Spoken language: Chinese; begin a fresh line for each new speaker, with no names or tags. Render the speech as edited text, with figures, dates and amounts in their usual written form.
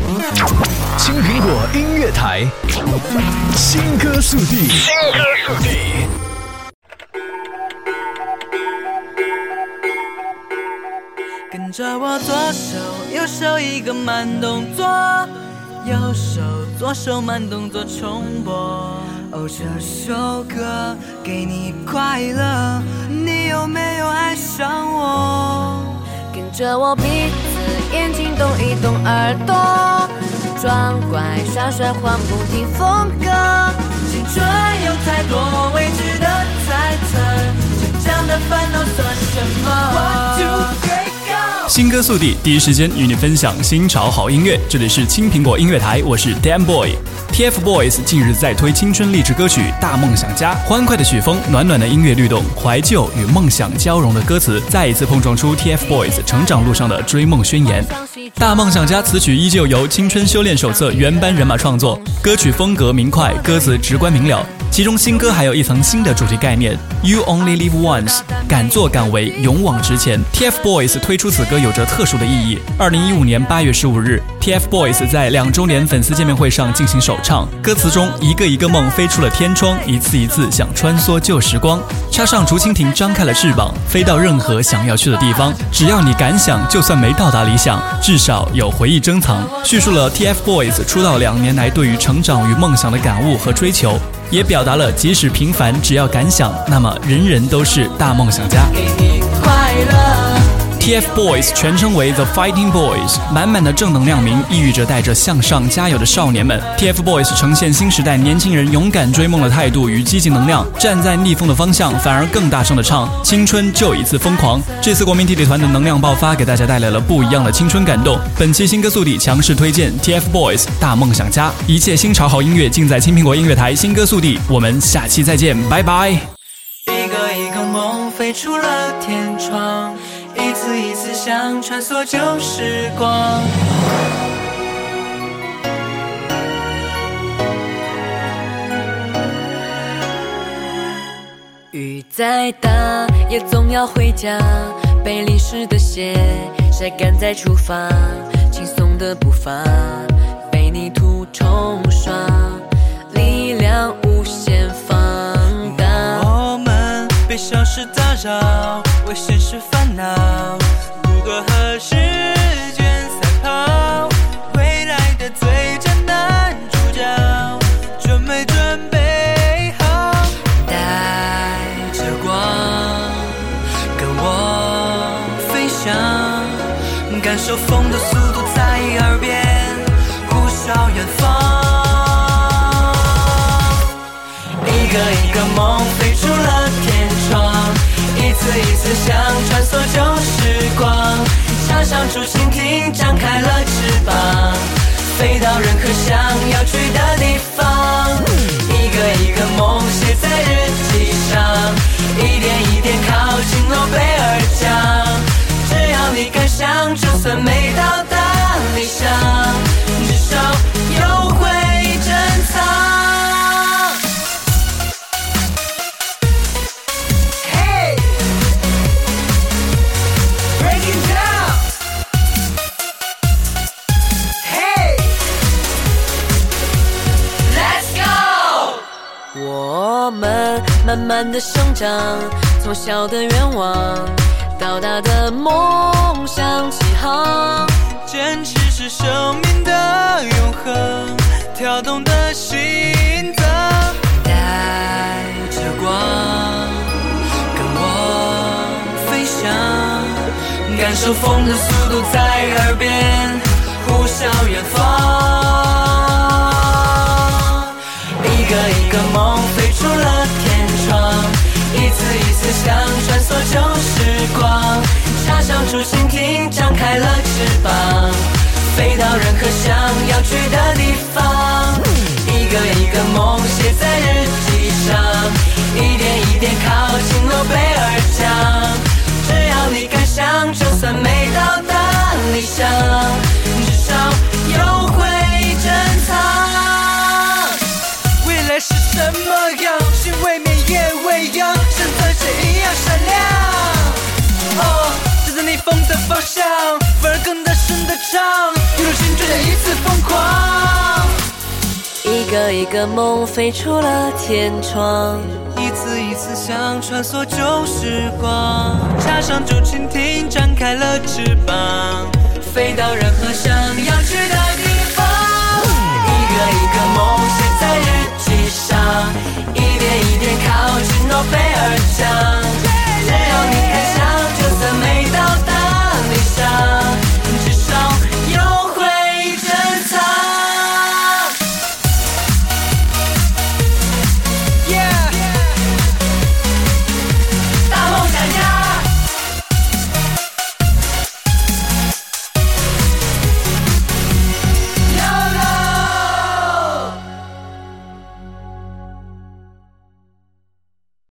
青苹果音乐台，新歌速递，新歌速递。
跟着我左手右手一个慢动作，右手左手慢动作重播。哦，这首歌给你快乐，你有没有爱上我？
跟着我鼻子眼睛动一动，耳朵装乖耍帅换不停风格。
青春有太多未知的猜测，成长的烦恼算什么？ One, two, three, go！
新歌速递，第一时间与你分享新潮好音乐。这里是青苹果音乐台，我是 Dan Boy。TFBOYS 近日在推青春励志歌曲《大梦想家》，欢快的曲风，暖暖的音乐律动，怀旧与梦想交融的歌词，再一次碰撞出 TFBOYS 成长路上的追梦宣言。《大梦想家》词曲依旧由青春修炼手册原班人马创作，歌曲风格明快，歌词直观明了。其中新歌还有一层新的主题概念 You Only Live Once， 敢作敢为，勇往直前。 TFBOYS 推出此歌有着特殊的意义。2015年8月15日 TFBOYS 在2周年粉丝见面会上进行首唱，歌词中一个一个梦飞出了天窗，一次一次想穿梭旧时光，插上竹蜻蜓张开了翅膀，飞到任何想要去的地方，只要你敢想，就算没到达理想，至少有回忆珍藏。叙述了 TFBOYS 出道2年来对于成长与梦想的感悟和追求，也表达了即使平凡，只要敢想，那么人人都是大梦想家。
给你快乐。
TFBOYS 全称为 The Fighting Boys， 满满的正能量名，意喻着带着向上加油的少年们。TFBOYS 呈现新时代年轻人勇敢追梦的态度与积极能量，站在逆风的方向，反而更大声的唱青春就一次疯狂。这次国民弟弟团的能量爆发，给大家带来了不一样的青春感动。本期新歌速递强势推荐 TFBOYS 大梦想家，一切新潮好音乐尽在青苹果音乐台新歌速递，我们下期再见，拜拜。
一个一个梦飞出了天窗，一次一次想穿梭旧时光。
雨再大也总要回家，被淋湿的鞋晒干再出发，轻松的步伐被泥土冲刷，力量无限放大。
我们被小事打扰，为现实烦恼，如何和时间赛跑？未来的最佳男主角，准没准备好？带着光，跟我飞翔，感受风的速度在耳边呼啸远方。一个一个梦飞出了天窗，一次一次想穿梭旧时光，插上竹蜻蜓张开了翅膀，飞到任何想要去的地方。一个一个梦写在日记上，一点一点靠近诺贝尔奖。只要你敢想，就算没到达理想，至少有回忆珍藏。
我们慢慢的生长，从小的愿望到大的梦想起航，
坚持是生命的永恒，跳动的心脏。带着光，跟我飞翔，感受风的速度在耳边呼啸远方。一个一个梦飞出了天窗，一次一次想穿梭旧时光，插上竹蜻蜓张开了翅膀，飞到任何想要去的地方。一个一个梦写在日记上，一点一点靠近诺贝尔奖。只要你敢想，就算没到达理想，至少有回忆珍藏。未来是什么样？心未泯也未央，现在是一样闪亮。哦，站在逆风的方向，反而更大声的唱，一路青春的一次疯狂。
个一个梦飞出了天窗，
一次一次想穿梭旧时光，插上竹蜻蜓，展开了翅膀，